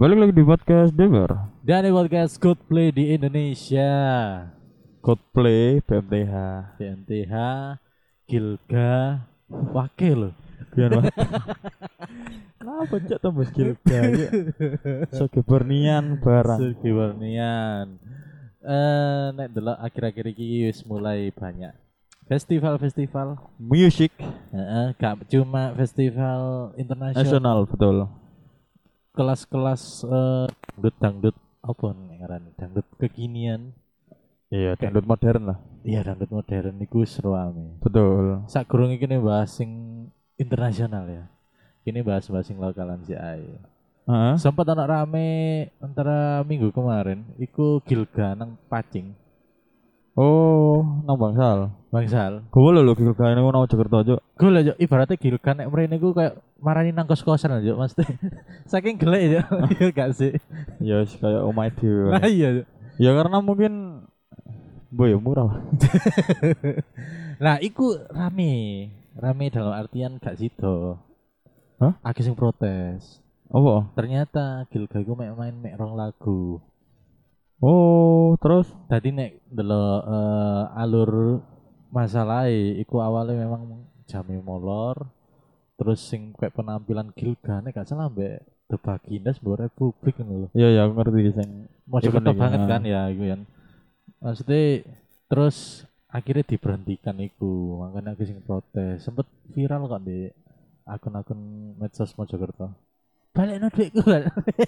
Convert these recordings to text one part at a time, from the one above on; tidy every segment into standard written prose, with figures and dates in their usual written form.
Balik lagi di podcast Deber. Dan di podcast Coldplay di Indonesia. Coldplay, BMTH. BMTH, Gilga, Wakil. Biar banget. Kenapa cak tambah Gilga ya? Sogebornian barang. Sugiwarnian. Nek delok akhir-akhir iki wis mulai banyak festival-festival. Music Gak cuma festival internasional. nasional, betul. Kelas-kelas dangdut apa nek ngarani? Dangdut kekinian. Iya, dangdut modern lah. Iya, dangdut modern iku seru ame. Betul. Sakurunge kene bahas sing internasional ya. Kini bahas-bahas sing lokalan si ae. Heeh. Sempat anak rame antara minggu kemarin iku Gilga nang Pacing. Oh, nang Bangsal. Bangsal. Gue lho Gilga ini nang Jakarta aja. Gue lah Jok, ibaratnya Gilga nek mrene ku kayak marani nang kos-kosan aja Mas. Saking gelek ya. Iya gak sih? Ya wis kayak omah dhewe. Nah iya. Jok. Ya karena mungkin boy murah lah. Nah, iku rame. Rame dalam artian gak sido. Hah? Akeh sing protes. Apa? Ternyata Gilga iku main rong lagu. Oh, terus Tadi nek delok alur masalahnya iku awalnya memang jame molor. Terus sing kayak penampilan Gilga nek gak salah mbek The Bagindas Mbok Republik ngono lho. iya ya aku ngerti sing Mojokerto Iku nih, banget ya. kan ya iku kan. Maksudnya terus akhirnya diberhentikan iku, makanya aku sing protes. Sempet viral kok di akun-akun medsos Mojokerto. Balik no duitku kan.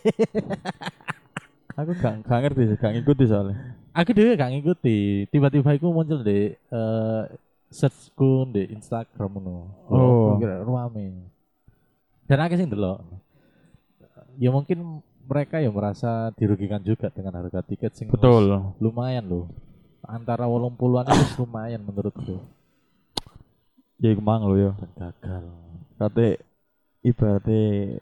aku gak ngerti sih, gak ngikuti soalnya. Aku dhewe gak ngikuti. Tiba-tiba iku muncul di searchku di Instagram ngono. Oh. Kira rame. Dan aku sing delok. Ya mungkin mereka ya merasa dirugikan juga dengan harga tiket sing Betul. lumayan loh. Antara 80-an itu lumayan menurutku. Ya iku mang lho ya. Dan gagal. Kate ibaratnya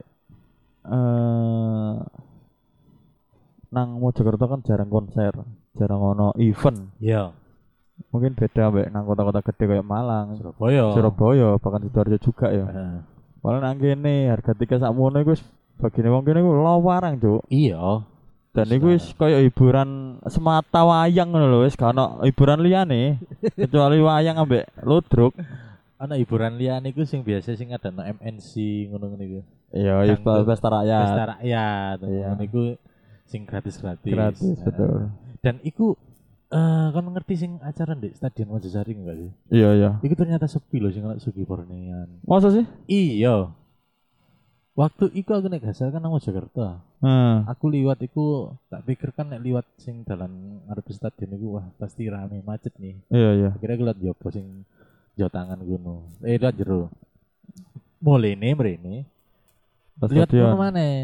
nang Mojokerto kan jarang konser, jarang ono event. Iya. Mungkin beda mbek nang kota-kota gede kayak Malang, Surabaya. Surabaya, bahkan Sidoarjo juga ya. Heeh. Malah nang kene harga tiket sakmono iku wis bagine wong kene iku lawarang, Cuk. Iya. Dan iku wis kaya hiburan semata wayang ngono lho, wis gak ono hiburan liyane kecuali wayang ambek ludruk. Ana hiburan liyane iku sing biasa sing ada no MNC ngono-ngono iku. Iya, wis Dangdut. pesta rakyat. Pesta rakyat. Iya. Ngono iku sing gratis-gratis. Gratis, betul. Dan iku kan ngerti sing acara di Stadion Mojosari enggak sih? Iya, iya. Iku ternyata sepi loh sing ana Sugibornean. Masa sih? Iya. Waktu iku aku nek gasal kan nang Jakarta. Aku liwat iku tak pikir kan nek liwat sing dalan ngarep stadion iku wah pasti rame macet nih. Iya, iya. Akhirnya aku liat jopo sing jauh tangan gunung. Lihat jero. Mulene mrene. Pas Lihat stadion. ngono maneh.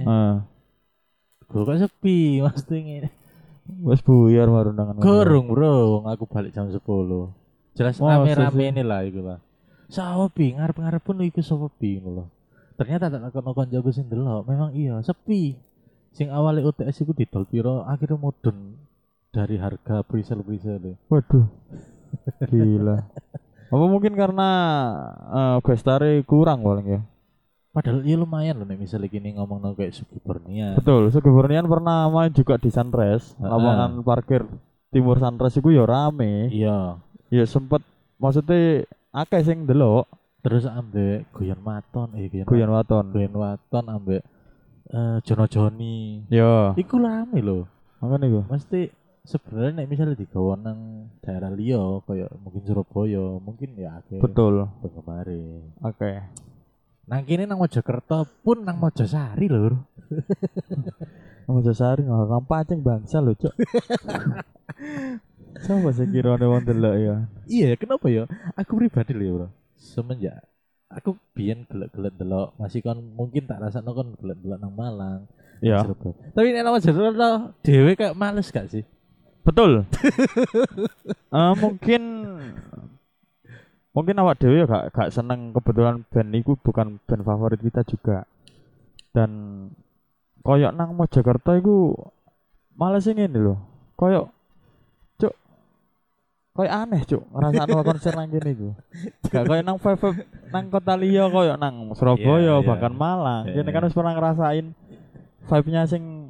Gue kok sepi mesti ngene. Wes buyar marundangan. Gorong bro, aku balik jam 10. Jelas Masa rame-rame sih? ini lah iku lah. Sapi ngarep-ngarep pun iku sepi ngono lho. Ternyata tak takon koncoku sing delok, memang iya sepi. Sing awalnya UTS iku didol piro, akhirnya mudun dari harga presale. Waduh. Gila. Apa mungkin karena bestare kurang paling ya? Padahal ya lumayan loh nek misalnya gini ngomong kayak Sugibornean. Betul, Sugibornean pernah main juga di Sunrise, Heeh. lapangan parkir timur Sunrise iku ya rame. Iya. Ya sempet maksudnya akeh sing delok Terus ambek Guyon Waton, Guyon Waton. Guyon Waton ambek Jono Joni. Ya, Iku rame loh. makane iku. Mesti sebenarnya nek misalnya digawa nang daerah liya kayak mungkin Surabaya, mungkin ya akeh Betul. penggemare. Oke. Nang kene nang Mojokerto pun nang Mojosari lho. Mojosari nang Pacing bangsa lho, Cuk. Coba sih kirane wong delok ya. Iya, kenapa ya? Aku pribadi lho, Bro. Semenjak aku biyen gelek-gelek delok, masih kan mungkin tak rasakno kon gelek-gelek nang Malang. Iya. Surabaya. Tapi nek nang Mojokerto dhewe kayak males gak sih? Betul. Mungkin awak dewe ya gak seneng, kebetulan band iku bukan band favorit kita juga. Dan koyok nang Mojokerto iku males ngene lho. Koyok Cuk. Koyok aneh, Cuk. Ngrasakno konser nang kene iku. Gak koyok nang vibe nang kota liya koyok nang Surabaya Iya, iya. bahkan Malang. Iya. Kene kan wis pernah ngerasain vibe-nya sing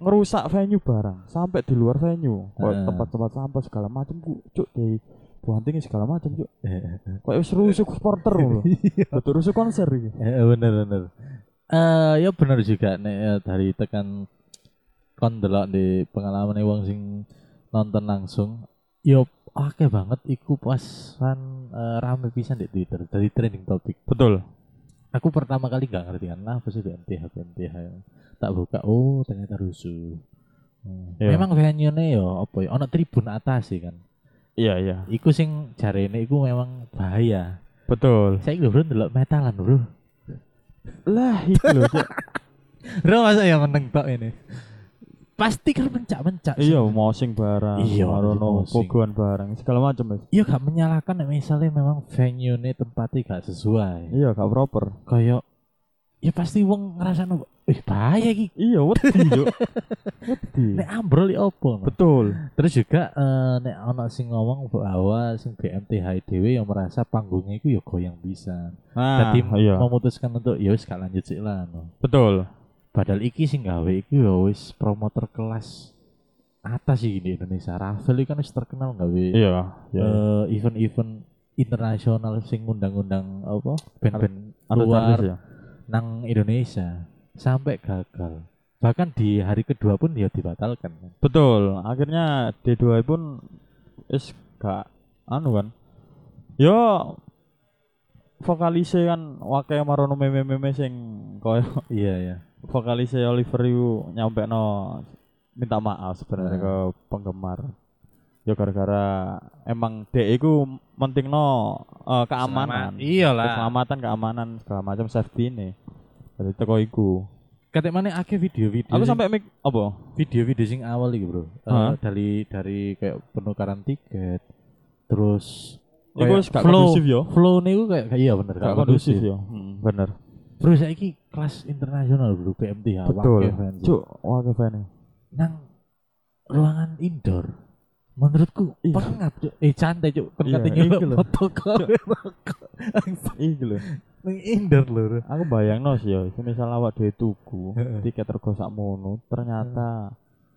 ngerusak venue barang sampai di luar venue, Heeh. tempat-tempat sampah segala macam ku cuk di buanting segala macam cuk. Kayak wis rusuk supporter lho. Betul rusuk konser iki. Bener. Ya bener juga nek dari tekan kon delok di pengalaman wong sing nonton langsung. Yo akeh banget iku pas rame pisan di Twitter dari trending topik. Betul. Aku pertama kali gak ngerti kan lah apa sih BMTH. Tak buka, oh ternyata rusuh. Iya. Memang venue-ne yo apa ya ono tribun atas sih kan. Iya. Iku sing jarene iku memang bahaya. Betul. Saya bro ndelok metalan bro. Lah itu lho cuk. Bro masa yang meneng tok ini. Pasti kan mencak-mencak sih. Iya, mosing barang, Iya, marono mosing. pogoan barang, segala macam Mas. Iya gak menyalahkan nek misalnya memang venue ini tempatnya gak sesuai. Iya, gak proper. Kayak ya pasti wong ngerasano bahaya iki. Iya, wedi cuk. Wedi. Nek ambrol ya opo. No? Betul. Terus juga nek ana sing ngomong bahwa sing BMTH dhewe yang merasa panggungnya iku ya goyang bisa. Nah, Jadi iya. memutuskan untuk ya wis gak lanjut sik lah. No. Betul. Padahal iki sing gawe iku ya wis promotor kelas atas sih di Indonesia. Ravel iki kan wis terkenal gawe Iya, iya. event-event internasional sing ngundang-undang apa band-band Artis luar ya. nang Indonesia sampai gagal. Bahkan di hari kedua pun dia dibatalkan. Betul. Akhirnya D2 pun wis gak anu kan. Yo vokalise kan wakai marono meme-meme sing koyo Iya. vokalis Oliver itu nyampe minta maaf sebenarnya ke penggemar. Ya gara-gara emang dek iku mentingno keamanan. Iyalah. Keamanan segala macam safety ini. Jadi teko iku. Kayak mana akeh video-video. Aku sing- sampai apa? video-video sing awal iki, Bro. Hah? Dari kayak penukaran tiket terus Iku kayak wis gak kondusif yo. Flow niku kayak iya bener Gak kondusif yo. Bener. Bro saiki kelas internasional bro BMTH Betul. Wake Fans. Cuk, wake fan. Nang ruangan indoor menurutku Iya. pengap cuk. Santai cuk. Kan Iya, katanya iki lho. foto kau. Iki lho. Nang indoor lho. Aku bayangno sih yo, misal awak dhewe tuku Heeh. tiket rego sakmono, ternyata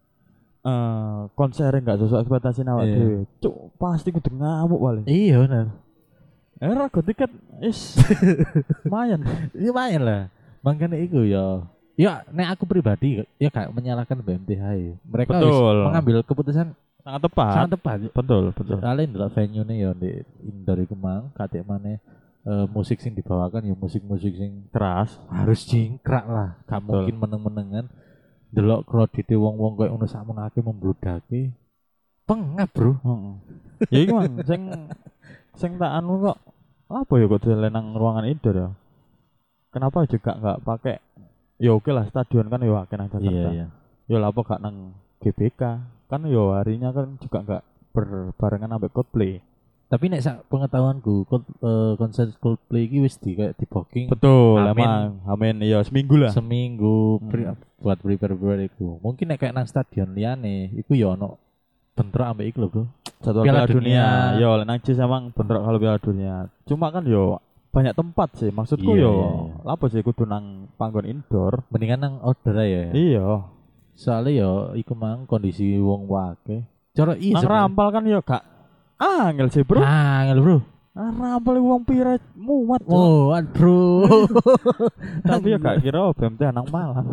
konser enggak sesuai ekspektasi awak Iya. dhewe. Cuk, pasti kudu ngamuk paling. Iya bener. Rego tiket is lumayan. Iya lumayan lah. Makanya itu ya. Ya, nek aku pribadi ya gak menyalahkan BMTH ya. Mereka wis Betul. mengambil keputusan Sangat tepat. sangat tepat. Betul. Soalnya ndelok venue-ne ya di indoor iku mang katik maneh musik sing dibawakan ya musik-musik sing Keras. harus jingkrak lah. Gak Betul. mungkin meneng-menengan delok kredite wong-wong koyo ngono sakmenake membludake. Pengap, Bro. Heeh. Ya iki mang sing tak anu kok apa ya kok dolen nang ruangan indoor ya. Kenapa juga enggak pakai ya oke lah stadion kan ya akeh nang Jakarta. Iya. Ya lah apa gak nang GBK kan ya harinya kan juga enggak berbarengan sampai Coldplay. Tapi nek sak pengetahuanku konser Coldplay iki wis kayak di booking Betul, Amin. emang. Amin, iya seminggu lah. seminggu buat prepare iku. Mungkin nek kayak nang stadion liyane iku ya ono bentrok ambek iku lho, Bro. Jadwal Piala Piala Dunia. Dunia. Yo, nang Jis emang bentrok kalau Piala Dunia. Cuma kan yo banyak tempat sih. Maksudku Iya, yo, iya. apa sih kudu nang panggon indoor. Mendingan nang outdoor aja ya. Iya. Soalnya ya iku mang kondisi wong wake. Cara Nang sebenarnya. rampal kan yo gak angel sih, Bro. Angel, Bro. Nang rampal wong pira muat. Bro. Oh, Bro. Tapi yo gak kira BMT nang Malang.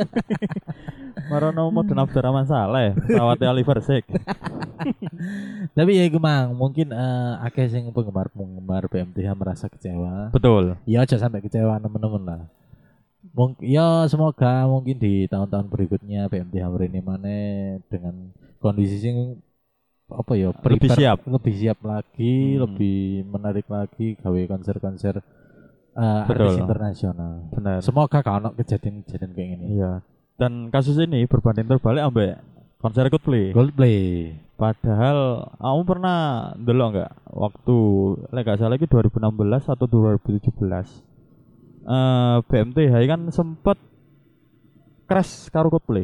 Marono mau Abdurrahman Saleh, pesawat Oliver Sik. Tapi ya iku mang mungkin akeh sing penggemar BMTH merasa kecewa. Betul. Ya aja sampai kecewa temen-temen lah. Mungkin ya semoga mungkin di tahun-tahun berikutnya BMTH ini mana dengan kondisi sing apa ya Lebih siap. lebih siap lagi, Hmm. lebih menarik lagi gawe konser-konser Betul. artis internasional. Benar. Semoga kalau kejadian-kejadian kayak gini. Iya. Dan kasus ini berbanding terbalik ambek konser Coldplay. Coldplay. Padahal kamu pernah ndelok enggak waktu lek gak salah itu 2016 atau 2017. BMTH kan sempet crash karo Coldplay.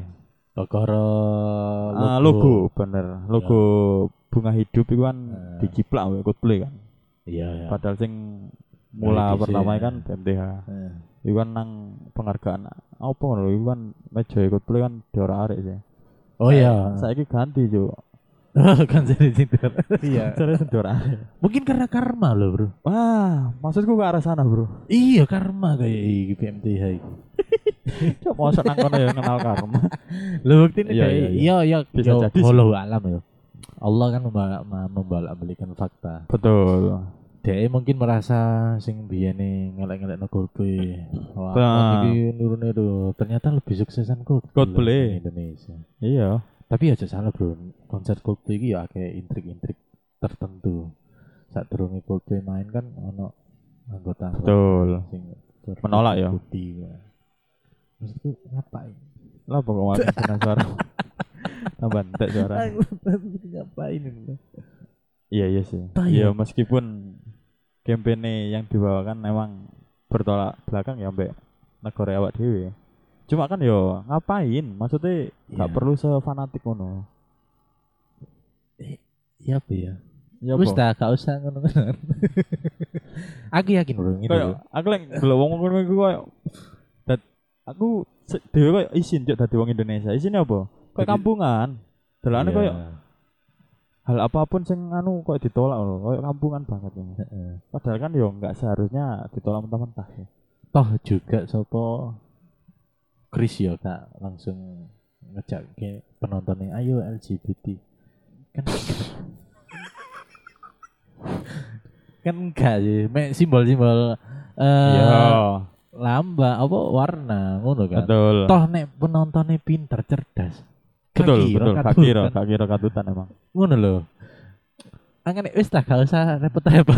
Logo. Bener. Logo bunga hidup itu kan Eh. dijiplak oleh Coldplay kan. Iya, iya. Padahal sing Mula Dari pertama dhisik, kan BMTH. Heeh. Iku kan nang penghargaan apa ngono iku kan meja Coldplay kan diorak-arik sih. Oh iya. Saiki ganti, Cuk. Kan jadi tidur. Iya. Jadi diorak-arik. Mungkin karena karma loh, Bro. Wah, maksudku ke arah sana, Bro. Iya, karma kayak iki PMTH iki. Cuk, mosok nang kono ya kenal karma. Lho bukti ini Iya, kayak iya, iya iya Bisa yo, jadi sih. wallahu alam ya. Allah kan membalak-balikan fakta. Betul. Dia mungkin merasa sing biyene ngelek-ngelek no Coldplay. Wah, Nah. iki nurune tuh ternyata lebih suksesan Coldplay. di Indonesia. Iya. Tapi aja salah, Bro. Konser Coldplay iki ya kayak intrik-intrik tertentu. Saat durunge Coldplay main kan ono anggota Betul. sing Menolak ya? Bukti. Maksudku ngapain? Lah pokoknya kena suara. Tambah entek suara. Ngapain ini? Iya sih. Tah, Iya ya. meskipun kampanye yang dibawakan memang bertolak belakang ya mbak negara awak dewe. Cuma kan yo ngapain? Maksudnya nggak Iya. perlu sefanatik ngono. Iya apa ya? Ya Wis apa? dah, gak usah ngono-ngono. Aku yakin, Bro, gitu. Kayak aku lagi delok wong ngono iku koyo aku dhewe koyo isin juk dadi wong Indonesia. Isinnya apa? Kayak Jadi- kampungan. Delane Iya. koyo hal apapun sing anu koyo ditolak loh. Koyo kampungan banget ya. Heeh. Padahal kan yo nggak seharusnya ditolak mentah-mentah ya. Toh juga sopo Chris ya kak langsung ngejak ke penontonnya ayo LGBT kan kan enggak sih simbol-simbol Iya, lamba apa warna ngono kan betul. toh nek penontonnya pinter cerdas Betul, betul. Gak katutan. kira katutan emang. Ngono lho angin wis tak gak usah repot-repot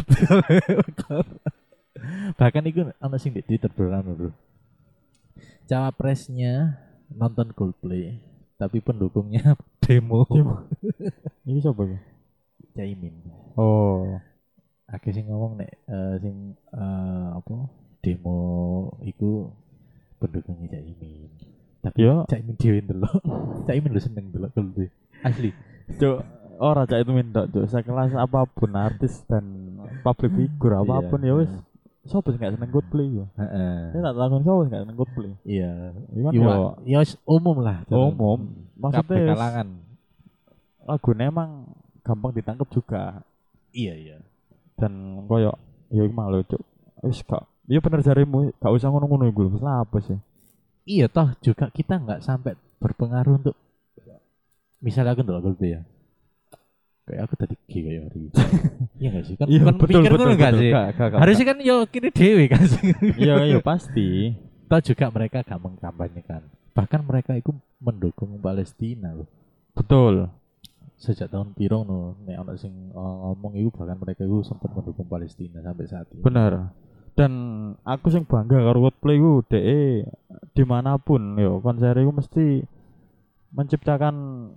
bahkan itu ana sing di Twitter bro cawapresnya nonton Coldplay tapi pendukungnya demo Ini siapa ya? Caimin Oh, akeh sing ngomong nek apa demo iku pendukungnya Caimin tapi Yo. Caimin dhewe ndelok Caimin lu seneng ndelok Coldplay asli cuk, ora cak itu minta cuk. Sekelas apapun artis dan public figure apapun ya wis. Sopo sing gak seneng Coldplay yo? heeh Saya tak takon sopo sing gak seneng Coldplay. iya Iku kan iya yo ya wis umum lah umum. Maksudnya kabeh wis kalangan lagune emang gampang ditangkap juga iya dan koyo ya iku mang lho cuk. Wis gak ya bener jarimu, gak usah ngono-ngono iku lho. Wis lah apa sih? iya toh juga kita nggak sampai berpengaruh untuk misalnya aku ndelok Coldplay ya kayak aku tadi gay kayak hari ini. Iya nggak sih kan Iya kan betul pikir betul ngono nggak betul. sih Gak. harusnya kan yo kini dewe kan sih Iya iya pasti. toh juga mereka gak mengkampanyekan bahkan mereka itu mendukung Palestina loh Betul. sejak tahun pirong no nek ana sing ngomong itu bahkan mereka itu sempat mendukung Palestina sampai saat ini Bener. Dan aku sing bangga karo Coldplay ku DE dimanapun yo konser iku mesti menciptakan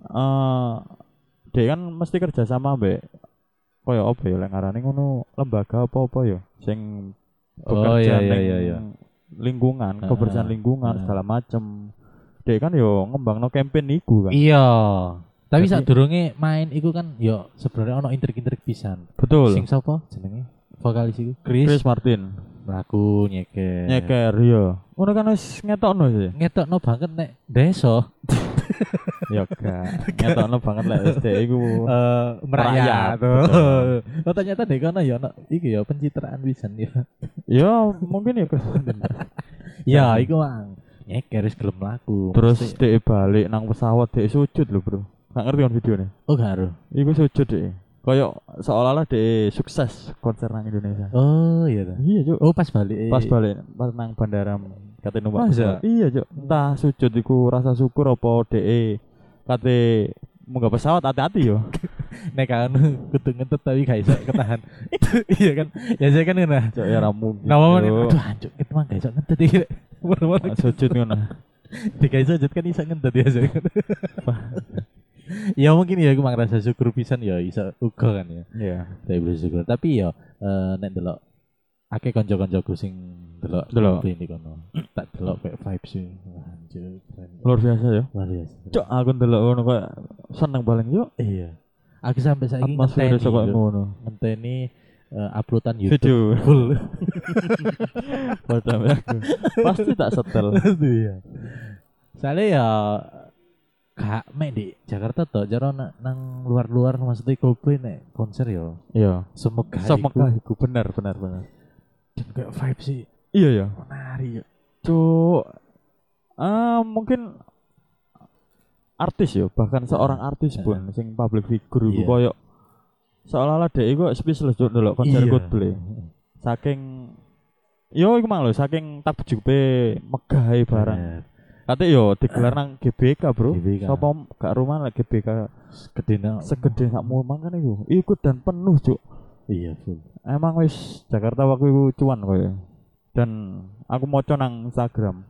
DE kan mesti kerja sama mbek koyo apa ya lek ngarani ngono lembaga apa-apa ya sing bekerja ning lingkungan, kebersihan lingkungan segala macem. DE kan yo ngembangno campaign iku kan. iya tapi Jadi- saat durunge main iku kan yo sebenarnya ono intrik-intrik pisan Betul. sing sapa jenenge vokalis iku Chris Martin mlaku nyeker nyeker yo. Ngono kan wis ngetokno sih. ngetokno banget nek desa Ya gak. Ngetokno banget lek wis DE iku merakyat Merakyat, tuh. Oh ternyata dek kono ya ono iki ya pencitraan pisan ya. ya mungkin ya Chris Martin. Ya iku mang nyeker wis gelem mlaku. Terus Mesti- DE balik nang pesawat DE sujud lho bro. Gak ngerti kan videonya. oh gak aruh. Iku sujud DE. Kayak seolah-olah DE sukses konser nang Indonesia. Oh iya ta. Iya cuk. Oh pas balik. Pas balik pas nang bandara kate numpak Masa? pesawat. Iya cuk. Entah sujud iku rasa syukur apa DE kate munggah pesawat hati-hati yo. Nek kan kudu ngentet tapi gak iso ketahan. Iya kan. Ya saya kan ngono. Cuk ya ra mungkin. Nama mana? Cuk. Aduh anjuk kita mah gak iso ngentet iki. Mana-mana Sujud ngono. tiga iso sujud kan iso ngentet ya saya. Ya mungkin ya aku mang rasa syukur pisan ya iso uga kan ya. Iya. Tapi bersyukur. Tapi ya nek delok akeh kanca-kancaku sing delok Delok. Coldplay ini kono. Tak delok kayak vibes sih. Wah, anjir keren. Luar biasa ya. Luar biasa. Cuk aku ndelok ngono kok seneng paling yo. Iya. Aku sampai saiki Atmosfer ngenteni iso kok lho. ngono. Ngenteni uploadan YouTube Video. full. Padahal aku pasti tak setel. Iya. Soalnya ya gak mek di Jakarta toh, jaro nang luar-luar maksudnya Coldplay nek konser yo. Iya. Semoga Iku benar. dan kayak vibe sih Iya ya. menarik ya. Cuk. Mungkin artis ya, bahkan seorang artis pun sing public figure iku Iya. koyo seolah-olah dhek iku speechless juk ndelok konser Iya. Coldplay. Saking yo iku mang lho, saking takjube megahe barang. Bener. Kate yo digelar nang GBK, Bro. GBK. Sapa gak rumah lah GBK Kedina segede sakmu mangan iku. Iku dan penuh, Cuk. iya full. Emang wis Jakarta waktu itu cuan koyo. Dan aku moco nang Instagram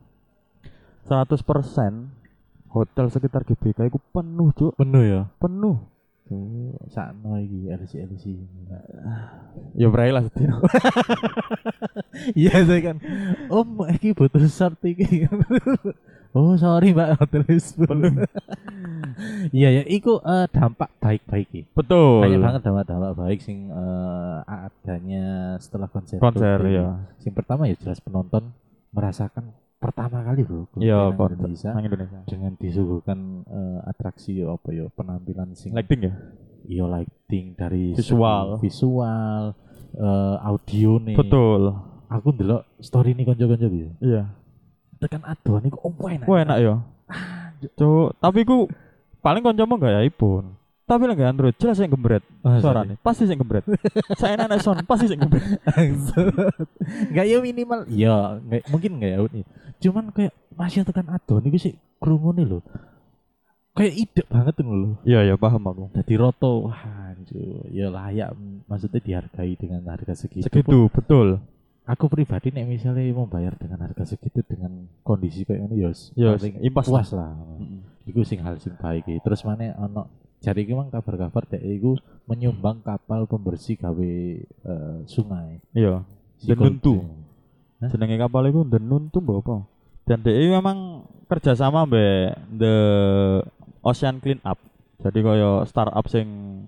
100% hotel sekitar GBK itu penuh, Cuk. Penuh ya. Penuh. Tuh, sakno iki LC. Ya berai lah sedino. Iya saya kan. Om iki butuh short iki. Oh sorry Mbak hotel penuh. Iya ya, iku dampak baik-baik iki. Betul. Banyak banget dampak baik sing adanya setelah konser. Konser Coldplay. ya. Sing pertama ya jelas penonton merasakan pertama kali bro Iya, nang konser Indonesia nang Indonesia. dengan disuguhkan atraksi apa ya penampilan sing Lighting ya. iya lighting dari Visual. segi visual audio nih. Betul. Aku ndelok story nih konco-konco gitu. Iya. Tekan aduan iku enak. Wah enak ya. Cuk, tapi ku paling kancamu gak ya iPhone. Tapi lagi Android jelas yang gembret suaranya. Pasti sing gembret. Saya enak sound pasti sing gembret. Enggak ya minimal. Ya, enggak mungkin enggak ya nih. Cuman kayak masih tekan aduan iku sih krungune lho. Kayak ide banget tuh lho. Iya ya paham aku. Jadi roto, wah anjir, ya layak maksudnya dihargai dengan harga segitu. Segitu betul. Aku pribadi nek misalnya mau bayar dengan harga segitu dengan kondisi kayak ini Ya paling impas puas lah. Mm-mm. Iku sing hal sing baik iki. Terus mana ono jadi iki mang kabar-kabar dek iku menyumbang kapal pembersih gawe sungai. Iya. Si Denuntu. Coldplay. Jenenge kapal iku Denuntu mbok apa? Dan DE memang kerjasama mbek The Ocean Clean Up. Jadi koyo startup sing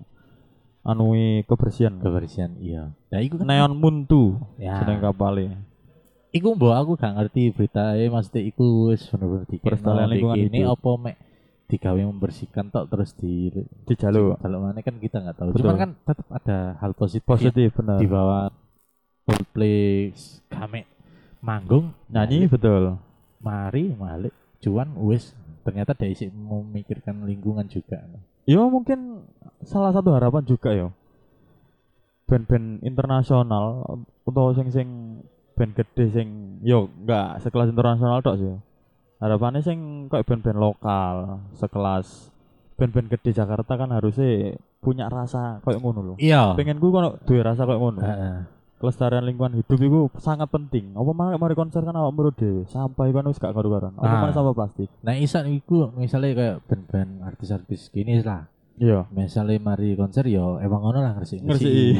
anui kebersihan. Kebersihan iya. Nah iku kan Neon Muntu ya. jeneng kapale. Iku mbok aku gak ngerti beritae maksudnya iku wis bener-bener Perstalian lingkungan ini hidup. apa mek digawe membersihkan tok terus Di jalur kalau mana kan kita nggak tahu. Betul. Cuman kan tetap ada hal positif, positif benar. di bawah Coldplay kami manggung Nyanyi betul. mari malik cuan wis ternyata dia isi memikirkan lingkungan juga. Ya mungkin salah satu harapan juga ya. Band-band internasional atau sing band gede sing yo enggak sekelas internasional tok sih. Harapannya sing kayak band-band lokal sekelas band-band gede Jakarta kan harusnya punya rasa kayak ngono loh. Iya. Pengen gue kono duwe rasa kayak ngono. Heeh. Kelestarian lingkungan hidup itu sangat penting. Apa mari konser kan awak menurut dhewe, sampah kan wis gak karu-karuan. Apa Ah. mana sampah plastik. Nah isan iku misalnya kayak band-band artis-artis gini lah. Iya. Misalnya mari konser yo emang ngono lah ngersi. Ngerti.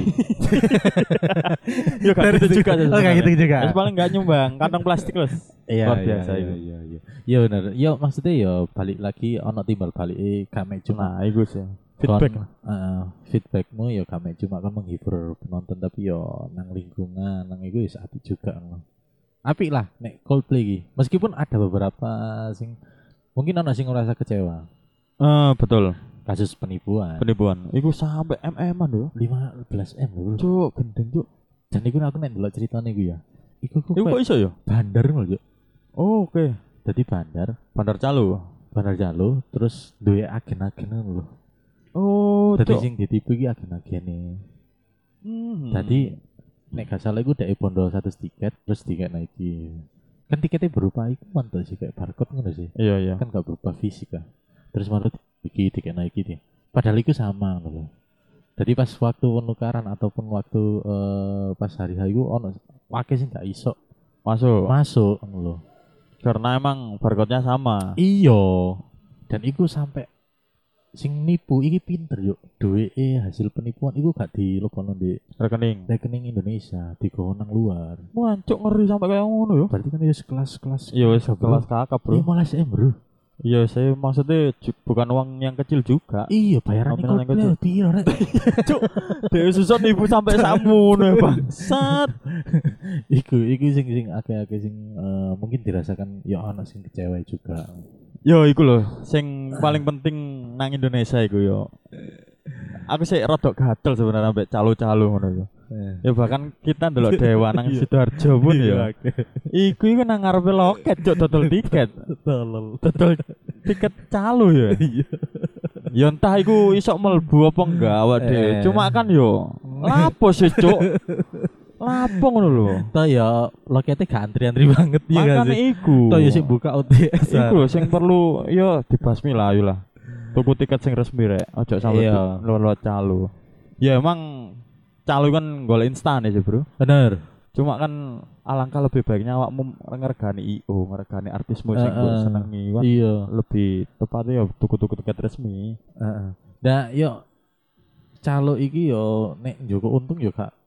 Ya gak gitu juga sih. Oh kayak gitu juga. Wis paling gak nyumbang kantong plastik wes. Iya, Luar biasa iya, itu. iya, iya. Iya benar. Iya maksudnya ya balik lagi ono timbal balik kami cuma Nah, iku sih. Feedback. feedbackmu ya kami cuma kan menghibur penonton tapi yo nang lingkungan nang iku ya apik juga no. Apik lah nek Coldplay iki. Meskipun ada beberapa sing mungkin ono sing ngerasa kecewa. Betul. Kasus penipuan. Penipuan. Iku sampai MM-an lho. 15 M lho. Cuk, gendeng cuk. Dan iku aku nek ndelok ceritane iku ya. Iku Iku kok kayak iso ya? bandar lho, Juk. Oh, oke. Dadi bandar Calo. Jalo terus duwe agen-agen lho. Oh, Dadi cuk. sing ditipu iki agen-agene. Hmm. Tadi nek gak salah iku dek bondo 100 tiket terus tiket naiki. Kan tiketnya berupa iku mantap sih kayak barcode ngono sih. Iya, iya. Kan gak berupa fisik kan. Terus mantap iki tiket naiki dia. Padahal iku sama ngono lho. Jadi pas waktu penukaran ataupun waktu pas hari hari iku ono wake sing gak iso masuk ngono lho. Karena emang barcode-nya sama. Iya. Dan iku sampai sing nipu iki pinter yuk. Duweke hasil penipuan iku gak dilebono di rekening Indonesia, digowo nang luar. Wah, cuk ngeri sampai kayak ngono ya. Berarti kan wis kelas-kelas. Iya, wis kelas kakap, Bro. 15 M, Bro. Iya, saya maksudnya bukan uang yang kecil juga. Iya, bayaran Nominal yang Coldplay piro rek. Cuk, dewe susut ibu sampai samono bangsat. Iku sing akeh-akeh sing mungkin dirasakan ya ana sing kecewa juga. Yo iku lho, sing paling penting nang Indonesia iku yo. Aku sih rodok gatel sebenarnya ambek calo-calo ngono iku. Ya bahkan kita ndelok Dewa nang Sidoarjo pun ya. Iku nang ngarepe loket cuk dodol tiket. Dodol tiket calo ya. Ya entah iku iso mlebu apa enggak awak dhewe. Cuma kan yo lapo sih cuk. Lapo ngono lho. Toh ya loketnya gak antri-antri banget ya gak Makane sih. iku. Toh ya sing buka OTS. Iku lho sing perlu yo dibasmi lah ayo lah. Tuku tiket sing resmi rek, ojo sampe Iya. lo calo. Ya emang calo kan golek instan ya bro. Bener. Cuma kan alangkah lebih baiknya awakmu ngergani IO, ngergani artismu sing mbok senengi kan Iya. lebih tepatnya ya tuku-tuku tiket resmi. Heeh. Nah, yo calo iki yo nek njogo untung yo gak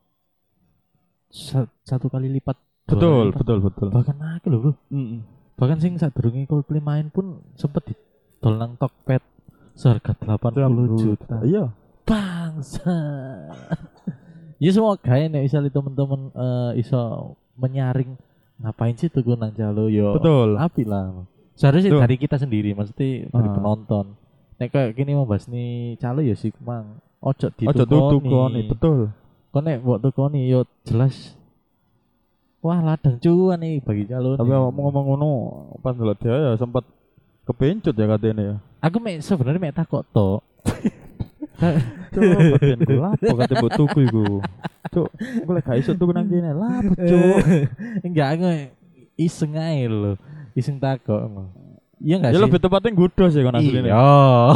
satu kali lipat. Dua kali lipat. Betul. Bahkan akeh lho, Bro. Mm-mm. Bahkan sing sadurunge Coldplay main pun sempet didol nang Tokped seharga 80 juta. Iya. Bangsa. Ya semoga nek misalnya temen-temen iso menyaring ngapain sih tuku nang calo yo. Betul. Apik lah. Seharusnya Tuh. dari kita sendiri, maksudnya dari penonton. Nek kayak gini mau bahas nih calo ya sih mang. Ojo Tukoni, betul. Kau nek buat tukoni yo jelas. Wah ladang cuan nih bagi calo. Tapi awakmu ngomong ngono pas ndelok dia ya sempat kepencut ya katanya ya. Aku sebenarnya mek takok to. Cuk, bagian gue lapo kate mbok tuku iku. Cuk, gue lek gak iso tuku nang kene. Lapo cuk. Enggak aku iseng ae lho. Iseng takok emang. Iya enggak Ya sih? lebih tepatnya gudo sih kan asline. Iya.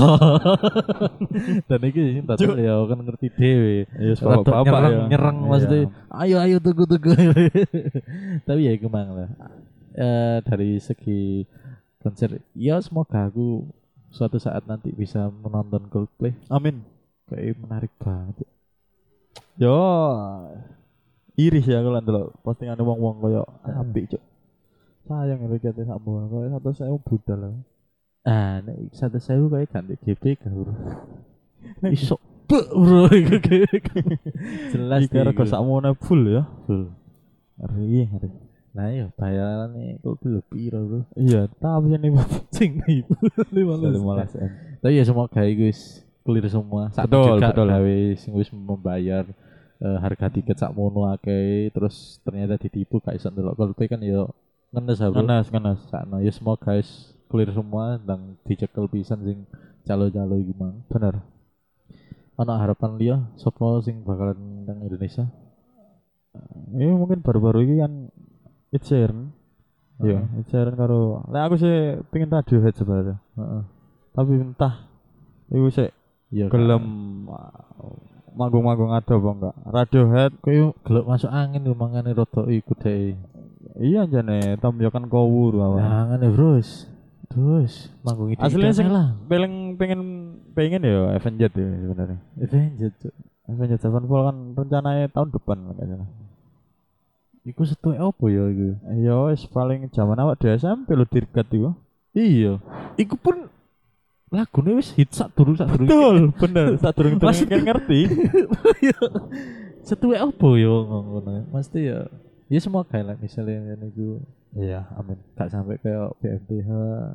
Dan iki sing tak ya kan ngerti dhewe. Iya, bapak ya. Nyerang maksudnya. Ayo tuku. Tapi ya iku mang lah. Dari segi konser ya semoga aku suatu saat nanti bisa menonton Coldplay. Amin. Kayak menarik banget. Yo. Iris ya kalau ndelok postingan wong-wong koyo apik cuk. Sayang ya kate sakmu koyo 100.000 budal lah. Ah, nek 100.000 kayak ganti GBK bro. Iso bro. Jelas Iki rego sakmono full ya. full. Ngeri. Nah iya bayarannya kok piro bro. Iya, tapi ini Sing ibu 15 M. Tapi ya semoga guys clear semua. Betul. Gawe sing wis membayar harga tiket sakmono akeh terus ternyata ditipu gak iso ndelok Coldplay kan ya ngenes bro. Ngenes. Sakno ya semoga guys clear semua dan dicekel pisan sing calo-calo iki mang. Bener. Ana harapan liya sapa sing bakalan nang Indonesia? Ini mungkin baru-baru ini kan Ed Sheeran. Iya, Ed Sheeran karo. Lah aku sih pengen Radiohead sebenarnya. Tapi entah iku sih Ya gelem manggung-manggung ada apa enggak. Radiohead koyo gelek masuk angin lho mangane rada iku deh. iya jane Tom yo kan kowur awak. Nah, ngene bros. Terus manggung itu Aslinya sing lah. pengen ya Avenged ya sebenarnya. Avenged Sevenfold kan rencananya tahun depan enggak salah. Iku setuwe opo ya iku? Ya wis paling zaman awak di SMP lho dirgat iku. Iya. Iku pun lagune wis hit sak durung. Betul, bener. Sak durung kan ngerti. Setuwe opo ya ngono. Mesti ya. Ya semoga lah misalnya niku. Iya, amin. Gak sampai kayak BMTH.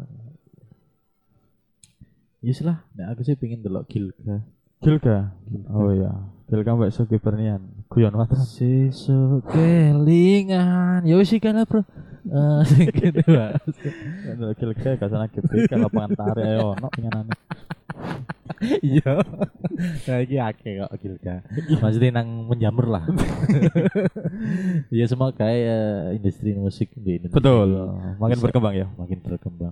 Yes lah, nek aku sih pengen delok Gilga. Oh iya. Gilga mbak Sogi Bernian. Guyon watan. Sesuk kelingan. Ya wis iki lah, Bro. Sing kene wae. Delok Gilga gak sana GBK lapangan tarik ayo ono pengenane. Iya. Nah iki akeh kok Gilga. Maksudnya nang menjamur lah. Ya semoga industri musik di Indonesia. Betul. Makin berkembang ya. Makin berkembang.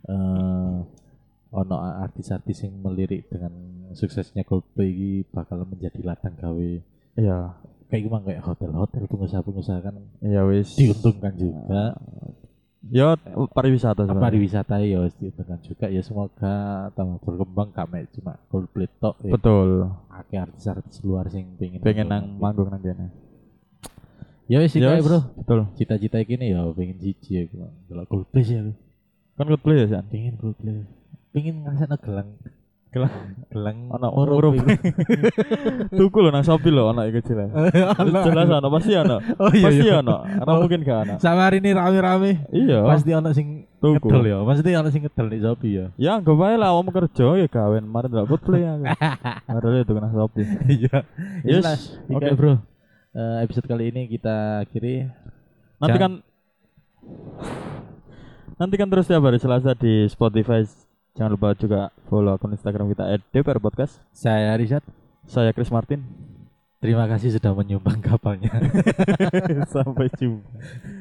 Ono artis-artis yang melirik dengan suksesnya Coldplay ini bakal menjadi ladang gawe. Iya. Kayak gimana kayak hotel-hotel pengusaha-pengusaha kan Iya wis diuntungkan juga. Ya pariwisata sebenarnya. Pariwisata ya wis diuntungkan juga. Ya semoga tambah berkembang gak mek cuma Coldplay tok ya. Betul. Akeh artis-artis luar sing Pengen nang manggung nang kene. Ya wis iki Yes, bro. betul. Cita-cita gini ya pengen siji ya delok Coldplay sih aku. Kan Coldplay ya San. Pingin Coldplay. Pingin ngrasakno gelang Ana murup murup. iku. Tuku lho nang Shopee lho ana iki jelas. Jelas ana pasti ana. Oh iya Pasti iya. ana. Ana mungkin gak ana. Sama hari ini rame-rame. Iya. Pasti ana sing Tuku. ngedol ya. Pasti ana sing ngedol di Shopee ya. Ya anggap wae lah wong kerja ya gawen mari ndelok Coldplay aku. Padahal itu nang Shopee. Iya. Yes. Oke, Oke. Bro. Episode kali ini kita akhiri. Nantikan terus setiap hari Selasa di Spotify. Jangan lupa juga follow akun Instagram kita @dprpodcast. Saya Rizat. Saya Chris Martin. Terima kasih sudah menyumbang kapalnya. Sampai jumpa.